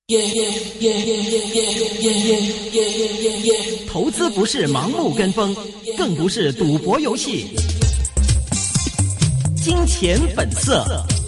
投资不是盲目跟风，更不是赌博游戏。金钱本色。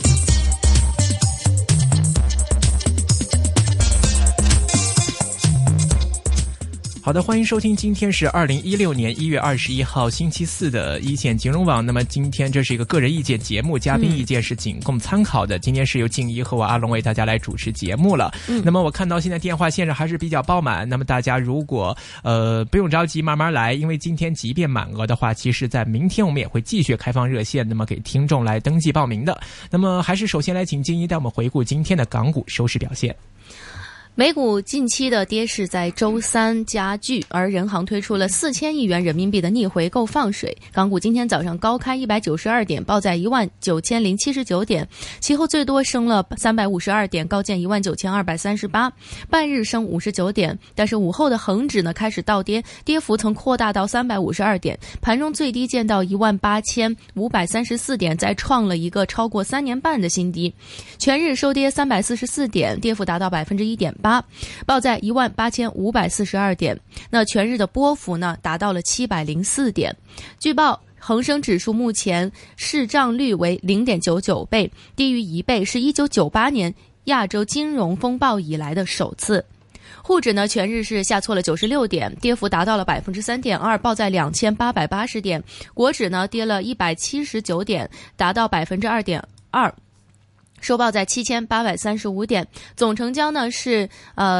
好的，欢迎收听，今天是2016年1月21号星期四的一线金融网。那么今天这是一个个人意见节目，嘉宾意见是仅供参考的。今天是由静怡和我阿龙为大家来主持节目了。那么我看到现在电话线上还是比较爆满，那么大家如果不用着急，慢慢来，因为今天即便满额的话，其实在明天我们也会继续开放热线，那么给听众来登记报名的。那么还是首先来请静怡带我们回顾今天的港股收市表现。 美股近期的跌势在周三加剧，而人行推出了4000亿元人民币的逆回购放水。港股今天早上高开192点，报在19079点，其后最多升了352点，高见19238，半日升59点。但是午后的恒指呢开始倒跌，跌幅曾扩大到352点，盘中最低见到18534点，再创了一个超过3年半的新低。全日收跌344点，跌幅达到1.8%。报在18542点，那全日的波幅呢达到了704点。据报，恒生指数目前市账率为 0.99 倍，低于1倍，是1998年亚洲金融风暴以来的首次。沪指呢全日是下挫了96点，跌幅达到了 3.2%， 报在2880点。国指呢跌了179点，达到 2.2%。收报在7835点，总成交呢是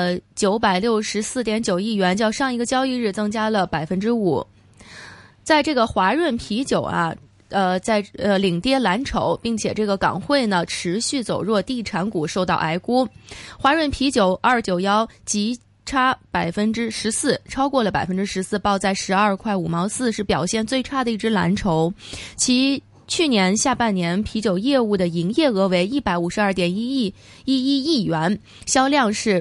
964.9亿元，较上一个交易日增加了 5%。在这个华润啤酒啊，在领跌蓝筹，并且这个港汇呢持续走弱，地产股受到挨沽。华润啤酒291急差 14%， 超过了 14%， 报在12块5毛4，是表现最差的一只蓝筹。其去年下半年啤酒业务的营业额为152.11亿元，销量是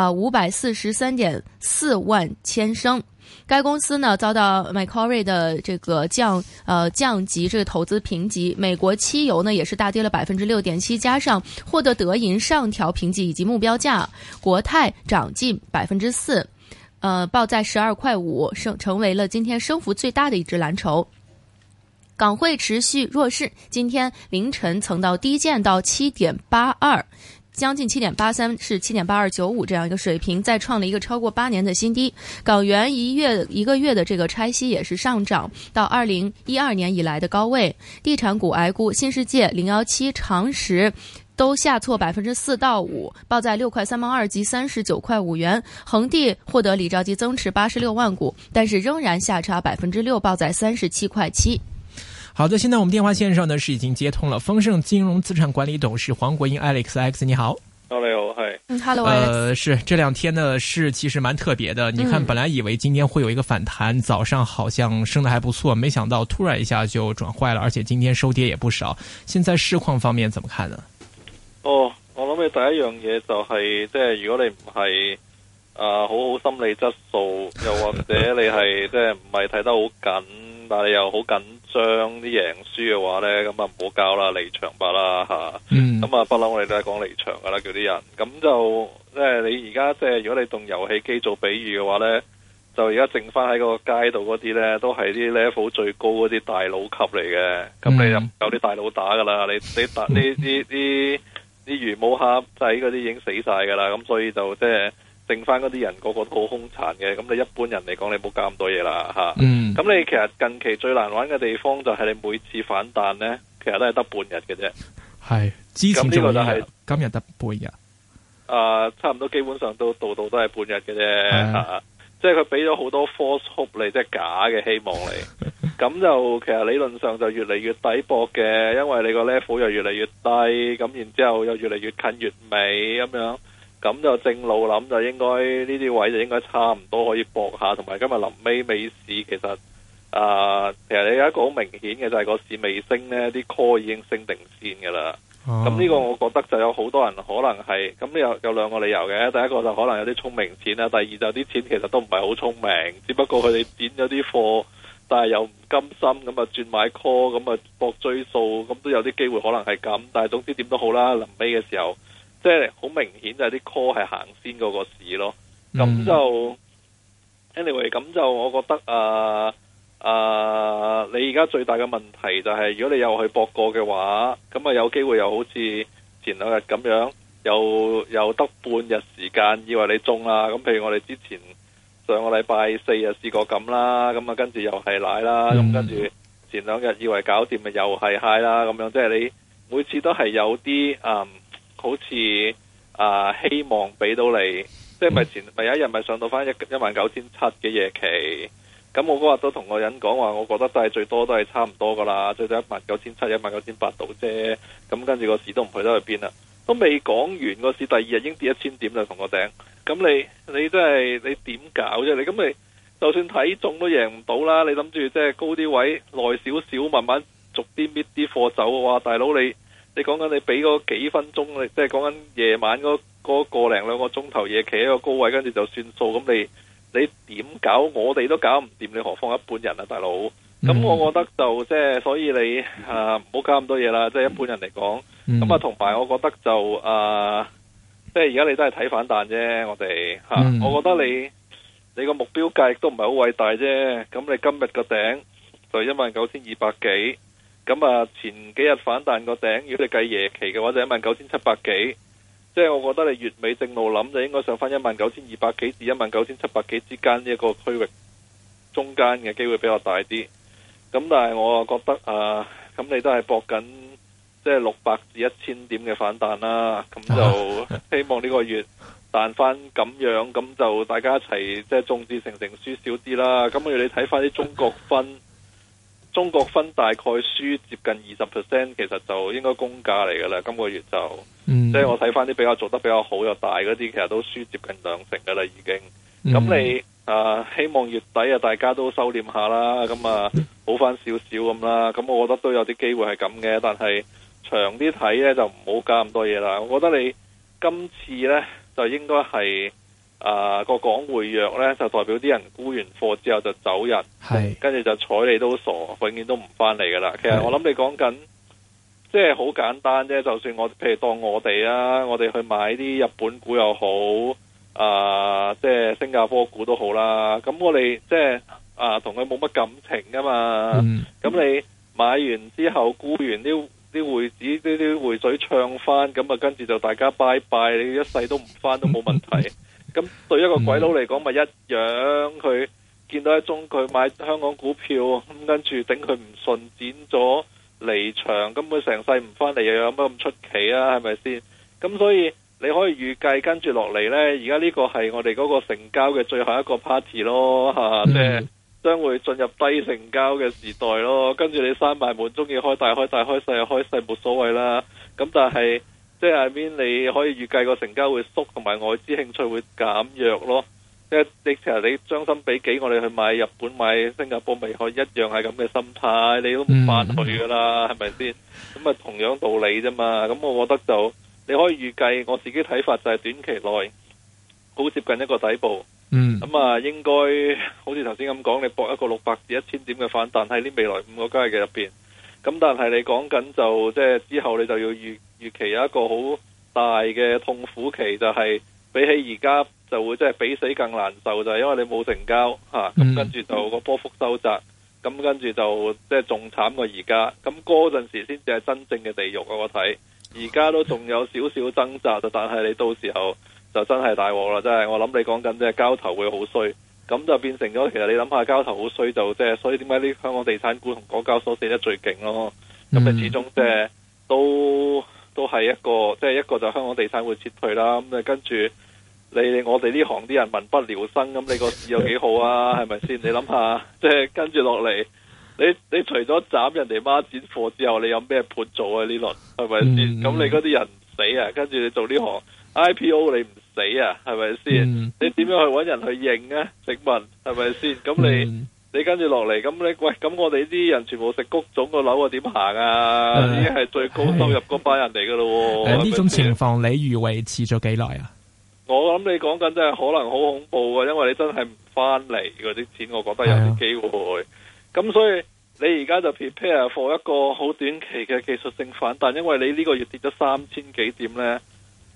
543.4万千升。该公司呢遭到 Macquarie 的这个降级这个投资评级，美国汽油呢也是大跌了 6.7%， 加上获得德银上调评级以及目标价，国泰涨近 4%， 报在12块5，成为了今天升幅最大的一只蓝筹。港汇持续弱势，今天凌晨曾到低见到 7.82， 将近 7.83， 是 7.8295 这样一个水平，再创了一个超过8年的新低。港元一个月的这个拆息也是上涨到2012年以来的高位。地产股挨沽，新世界、017、长实都下挫 4%到5%， 报在6块3毛2及39块5元。恒地获得李兆基增持86万股，但是仍然下差 6%， 报在37块7。 好的，现在我们电话线上呢是已经接通了丰盛金融资产管理董事黄国英 Alex， 你好。 你好，嗨。 Hello Alex。 是这两天的市其实蛮特别的，你看本来以为今天会有一个反弹，早上好像升得还不错，没想到突然一下就转坏了，而且今天收跌也不少。现在市况方面怎么看呢？ 我諗你第一樣嘢就係即係如果你唔係好好心理質素，又或者你係即係唔係睇得好緊，但係你又好緊張啲贏輸嘅話咧，咁啊唔好搞啦，離場吧啦嚇。咁啊不嬲我哋都係講離場噶啦，叫啲人。咁就即係你而家即係如果你動遊戲機做比喻嘅話咧，就而家剩翻喺個街度嗰啲咧，都係啲 level 最高嗰啲大佬級嚟嘅。咁你就唔夠啲大佬打噶啦，你打啲魚毛蝦仔嗰啲已經死晒噶啦，咁所以就即係剩翻嗰啲人個個都好兇殘嘅，咁你一般人嚟講你唔好搞咁多嘢啦嚇。咁你其實近期最難玩嘅地方就係你每次反彈咧，其實都係得半日嘅啫。係，之前仲有今日得半日。差唔多基本上都度都係半日嘅啫嚇。即係佢俾咗好多 false hope 嚟，即係假嘅希望嚟。咁就其實理論上就越嚟越抵博嘅，因為你個 level 又越嚟越低，咁然之後又越嚟越近月尾咁樣，咁就正路諗就應該呢啲位就應該差唔多可以博下，同埋今日臨尾美市其實其實你有一個好明顯嘅就係個市未升呢，啲 call 已經升定先㗎啦。咁呢個我覺得就有好多人可能係咁，有兩個理由嘅。第一個就可能有啲聰明錢啦，第二就啲錢其實都唔係好聰明，只不過佢哋剪咗啲貨，但係又唔甘心咁啊轉買 call 咁啊搏追數，咁都有啲機會可能係咁。但係總之點都好啦，臨尾嘅時候即係好明顯就係啲 call 係行先嗰個市咯。咁就 anyway， 咁就我覺得你而家最大嘅問題就係，如果你又去博過嘅話，咁啊有機會又好似前兩日咁樣，又得半日時間以為你中啦。咁譬如我哋之前上個禮拜四日試過咁啦，咁啊跟住又係奶啦，咁跟住前兩日以為搞掂咪又係 high 啦，咁樣即係你每次都係有啲好似希望俾到你，即係咪有一日咪上到翻19700嘅夜期。咁我嗰日都同個人講話，我覺得都係最多都係差唔多噶啦，最多19700、19800度啫。咁跟住個市都唔去得去邊啦，都未講完個市，第二日已經跌1000點啦，同個頂。咁你真係你點搞啫？你咁你就算睇中都贏唔到啦。你諗住即係高啲位耐少少，慢慢逐啲搣啲貨走嘅話，大佬你講緊你俾嗰幾分鐘，你即係講緊夜晚嗰個零兩個鐘頭夜期一個高位，跟住就算數。咁你點搞？我哋都搞唔掂，你何況一般人啊，大佬。咁我覺得就即係，所以你唔好搞咁多嘢啦。即係一般人嚟講，咁同埋我覺得就即係而家你都係睇反彈啫。我哋我覺得你個目標價亦都唔係好偉大啫。咁你今日個頂就19200幾，咁前幾日反彈個頂，如果你計夜期嘅話就19700幾。即係我覺得你月尾正路諗就應該上翻19200幾至19700幾之間呢一個區域中間嘅機會比較大啲。咁但係我覺得咁你都係搏緊即係600至1000點嘅反彈啦。咁就希望呢個月彈翻咁樣，咁就大家一齊即係眾志成城輸少啲啦。咁你睇翻啲中國分大概輸接近20%，其實就應該公價嚟噶啦。今個月就即係我睇翻啲比較做得比較好又大嗰啲，其實都輸接近2成噶啦已經。咁你希望月底大家都收斂下啦，咁好翻少少咁啦。咁我覺得都有啲機會係咁嘅，但係長啲睇呢，就唔好加咁多嘢啦。我覺得你今次呢，就應該係個港匯弱呢，就代表啲人沽完貨之後就走人，跟住就睬你都傻，永遠都唔翻嚟噶啦。其實我諗你講緊即係好簡單啫。就算譬如當我哋去買啲日本股又好，即係新加坡股都好啦。咁我哋即係同佢冇乜感情噶嘛。咁你買完之後沽完啲匯紙啲匯水唱翻，咁跟住就大家拜拜，你一世都唔翻都冇問題。咁對一個鬼佬嚟講咪一樣，佢見到一宗佢買香港股票，咁跟住頂佢唔順，剪咗離場，咁佢成世唔翻嚟，又有乜咁出奇啊？係咪先？咁所以你可以預計跟住落嚟呢，而家呢個係我哋嗰個成交嘅最後一個 party 咯，即係將會進入低成交嘅時代咯。跟住你閂埋門，中意開大開大，開細開細冇所謂啦。咁但係即係邊你可以預計個成交會縮，同埋外資興趣會減弱咯。即係其實你將心比己，我哋去買日本、買新加坡，咪可以一樣係咁嘅心態，你都唔翻去噶啦，係咪先？咁同樣道理啫嘛。咁我覺得就你可以預計，我自己睇法就係短期內好接近一個底部。咁應該好似頭先咁講，你搏一個600至1000點嘅反彈喺呢未來5個交易日入邊。咁但係你講緊就即係之後你就要預期有一個好大嘅痛苦期，就係比起而家就會即係比死更難受，就係因為你冇成交咁跟住就個波幅收窄，咁跟住就即係仲慘過而家。咁嗰陣時先至係真正嘅地獄我睇。而家都仲有少少掙扎，但係你到時候就真係大鑊啦！真係我諗你講緊即係交投會好衰，咁就變成咗其實你諗下交投好衰就即係，所以點解啲香港地產股同港交所死得最勁咯？咁你始終即係都係一個即係一個就香港地產會撤退啦。咁你跟住我哋呢行啲人民不聊生，咁你個市有幾好啊？係咪先？你諗下即係跟住落嚟。你除咗斬人哋孖展貨之後，你有咩盤做啊？呢輪係咪先？咁你嗰啲人唔死啊？跟住你做呢行 IPO 你唔死啊？係咪先？你點樣去搵人去認啊？請問係咪先？咁你跟住落嚟，咁你喂，咁我哋啲人全部食谷種個樓啊，點行啊？已經係最高收入嗰班人嚟噶咯。 呢種情況你預為持咗幾耐啊？ 我諗你講緊真係可能好恐怖啊，因為你真係唔翻嚟嗰啲錢，我覺得有啲機會。咁所以你而家就 prepare for 一個好短期嘅技術性反彈，因為你呢個月跌咗3000幾點呢，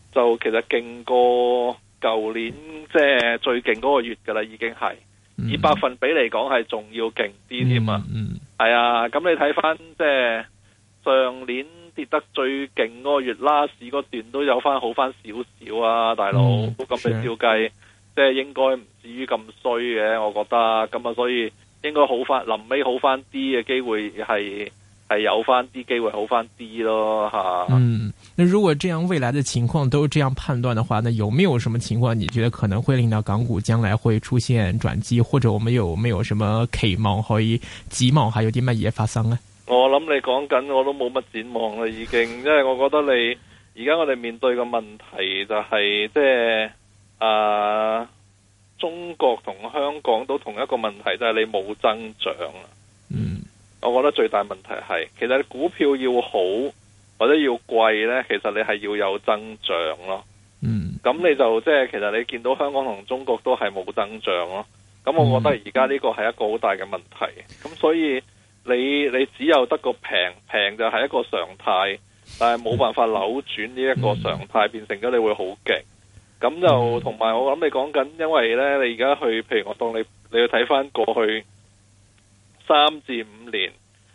就其實勁過舊年即係最勁嗰個月噶啦，已經係以百分比嚟講係仲要勁啲添啊！係啊，咁你睇翻即係上年跌得最勁嗰個月，last嗰段都有翻好翻少少啊，大佬。咁你照計，即係應該唔至於咁衰嘅，我覺得。咁啊，所以應該好翻，臨尾好翻啲嘅機會係有翻啲機會好翻啲咯，吓。 那如果這樣未來的情況都這樣判斷的話，那有沒有什麼情況你覺得可能會令到港股將來會出現轉機，或者我們有沒有什麼期望可以指望下有啲乜嘢發生呢？ 我諗你講緊我都冇乜展望啦，已經，因為我覺得你而家我哋面對嘅問題就係即係中國同香港都同一個問題，就係你冇增長啦。我覺得最大問題係，其實你股票要好或者要貴呢，其實你係要有增長咯。咁你就即係其實你見到香港同中國都係冇增長咯。咁我覺得而家呢個係一個好大嘅問題。咁所以你只有得個平就係一個常態，但係冇辦法扭轉呢一個常態，變成咗你會好勁。咁就同埋我諗你講緊，因為呢，你而家去，譬如我當你去睇翻過去3至5年，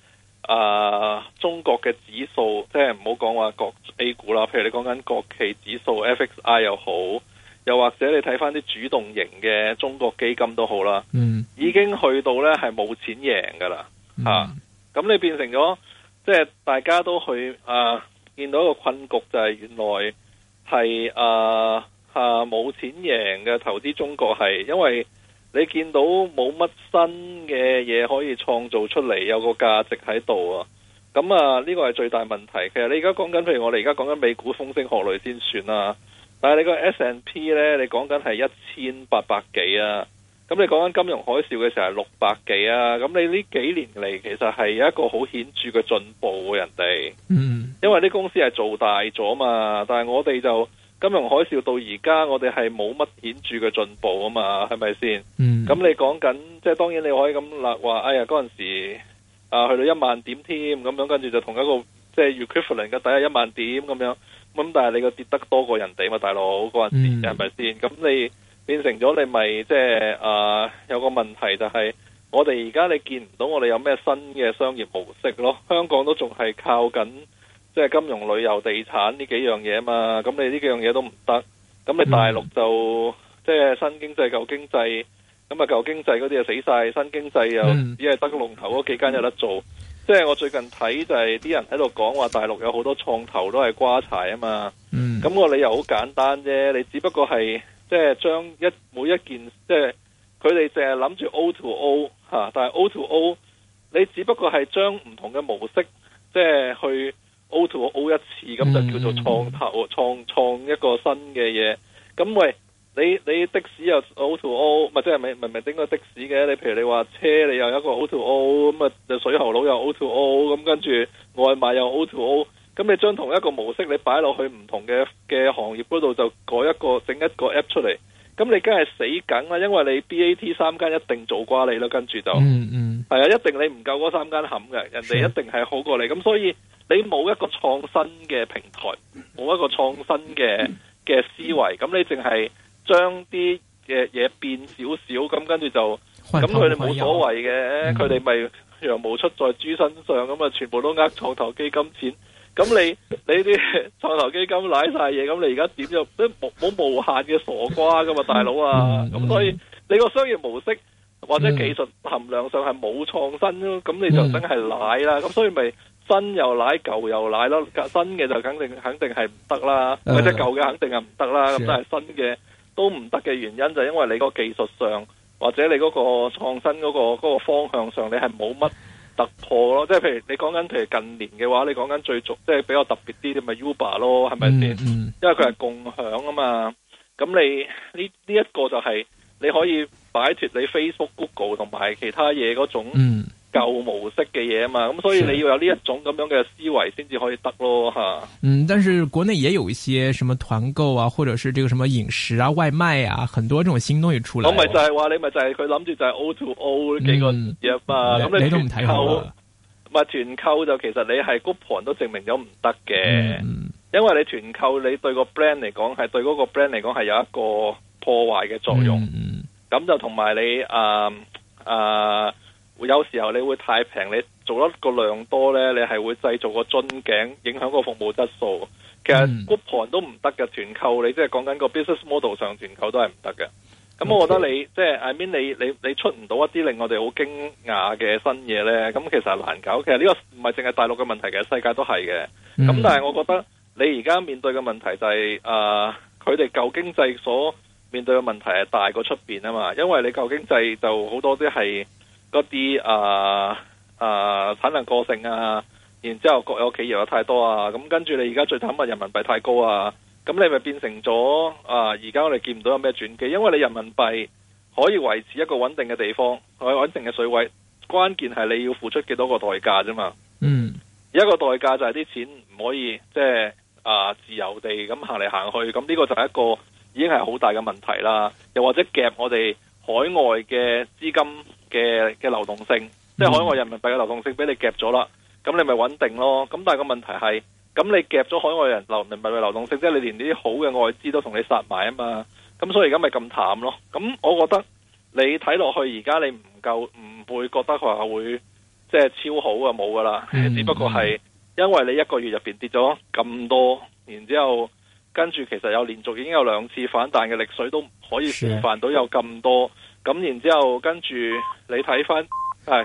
中國嘅指數，即係唔好講話國 A 股啦，譬如你講緊國企指數 FXI 又好，又或者你睇翻啲主動型嘅中國基金都好啦，已經去到呢係冇錢贏噶啦，咁你變成咗即係大家都去見到一個困局，就係原來係冇錢贏嘅投資中國，係因為你見到冇乜新嘅嘢可以創造出嚟，有個價值喺度啊！咁呢個係最大問題。其實你而家講緊，譬如我哋而家講緊美股風聲鶴唳先算啦，但係你個 S&P 呢，你講緊係1800幾啊！咁你講緊金融海嘯嘅時候係600幾啊！咁你呢幾年嚟其實係有一個好顯著嘅進步，人哋，因為啲公司係做大咗嘛，但係我哋就金融海嘯到而家，我哋係冇乜顯著嘅進步啊嘛，係咪先？咁你講緊，即係當然你可以咁話，哎呀嗰陣時去到1萬點添，咁樣跟住就同一個即係 equivalent 嘅底係1萬點咁樣，咁但係你個跌得多過人哋嘛，大佬嗰陣時係咪先？咁你變成咗你咪即係有個問題就係，我哋而家你見唔到我哋有咩新嘅商業模式咯？香港都仲係靠緊即係金融、旅遊、地產呢幾樣嘢嘛，咁你呢幾樣嘢都唔得，咁你大陸就即係新經濟、舊經濟，咁舊經濟嗰啲就死晒，新經濟又只係得個龍頭嗰幾間有得做。即係我最近睇就係啲人喺度講話大陸有好多創投都係瓜柴啊嘛，咁個理由好簡單啫，你只不過係即係將每一件即係佢哋淨係諗住 O to O 但係 O to O 你只不過係將唔同嘅模式即係去O to O 一次，咁就叫做創投創一個新嘅嘢。咁喂，你的士又 O to O， 咪即係明明整個的士嘅？你譬如你話車，你又有一個 O to O， 咁啊水喉佬又 O to O， 咁跟住外賣又 O to O， 咁你將同一個模式你擺落去唔同嘅行業嗰度，就整一個 app 出嚟，咁你梗係死梗啦，因為你 BAT 3間一定做瓜你啦，跟住就係啊，一定你唔夠嗰3間冚嘅，人哋一定係好過你，咁所以你冇一個創新嘅平台，冇一個創新嘅思維，咁你淨係將啲嘅嘢變少少，咁跟住就咁佢哋冇所謂嘅，佢哋咪羊毛出在豬身上，咁啊全部都創投基金錢，咁你啲創投基金瀨晒嘢，咁你而家點就都冇無限嘅傻瓜噶嘛，大佬啊！咁所以你個商業模式或者技術含量上係冇創新咯，咁你就真係瀨啦，咁所以咪新又瀨舊又瀨咯，新嘅就肯定係唔得啦，或者舊嘅肯定係唔得啦，咁但係新嘅都唔得嘅原因就係因為你個技術上或者你嗰個創新嗰個方向上你係冇乜突破咯，即係譬如你講緊譬如近年嘅話，你講緊最即係比較特別啲，咪 Uber 咯，係咪先？因為佢係共享啊嘛，咁你呢一個就係你可以擺脫你 Facebook、Google 同埋其他嘢嗰種舊模式嘅嘢啊嘛，咁所以你要有呢一種咁樣嘅思維先至可以得咯吓。但是國內也有一些什麼團購啊，或者是這個什麼飲食啊、外賣啊，很多這種新東西出來。 我咪就係話你咪就係佢諗住就係 O to O 幾個嘢嘛，咁你都唔睇好。 咪團購就其實你係 coupon 都證明咗唔得嘅。 因為你團購你對個 brand 嚟講係對嗰個 brand 嚟講係有一個破壞嘅作用。咁就同埋你有時候你會太平，你做一個量多呢，你係會製造個樽頸，影響個服務質素。其實 coupon 都唔得嘅，團購你即係講緊個 business model 上團購都係唔得嘅。咁我覺得你即係 I mean 你出唔到一啲令我哋好驚訝嘅新嘢呢，咁其實係難搞。其實呢個唔係淨係大陸嘅問題嘅，世界都係嘅。咁但係我覺得你而家面對嘅問題就係佢哋舊經濟所面對嘅問題係大過出邊啊嘛，因為你舊經濟就好多啲係嗰啲產能過剩啊，然之後國有企業有太多啊，咁跟住你而家最慘嘅人民幣太高啊，咁你咪變成咗而家我哋見唔到有咩轉機，因為你人民幣可以維持一個穩定嘅地方，穩定嘅水位，關鍵係你要付出幾多個代價啫嘛。一個代價就係啲錢唔可以即係自由地咁行嚟行去，咁呢個就係一個已經係好大嘅問題啦。又或者夾我哋海外嘅資金嘅流動性，即係海外人民幣嘅流動性俾你夾咗啦，咁你咪穩定咯。咁但係個問題係，咁你夾咗海外人民幣嘅流動性，即係你連呢啲好嘅外資都同你殺埋啊嘛。咁所以而家咪咁淡咯。咁我覺得你睇落去而家你唔會覺得佢話會即係超好啊，冇噶啦。只不過係因為你一個月入邊跌咗咁多，然之後跟住其實有連續已經有2次反彈嘅力水都可以示範到有咁多。咁然之後跟住你睇翻。